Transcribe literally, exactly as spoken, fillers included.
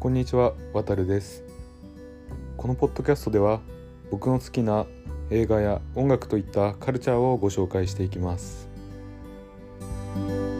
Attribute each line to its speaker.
Speaker 1: こんにちは、わたるです。このポッドキャストでは僕の好きな映画や音楽といったカルチャーをご紹介していきます。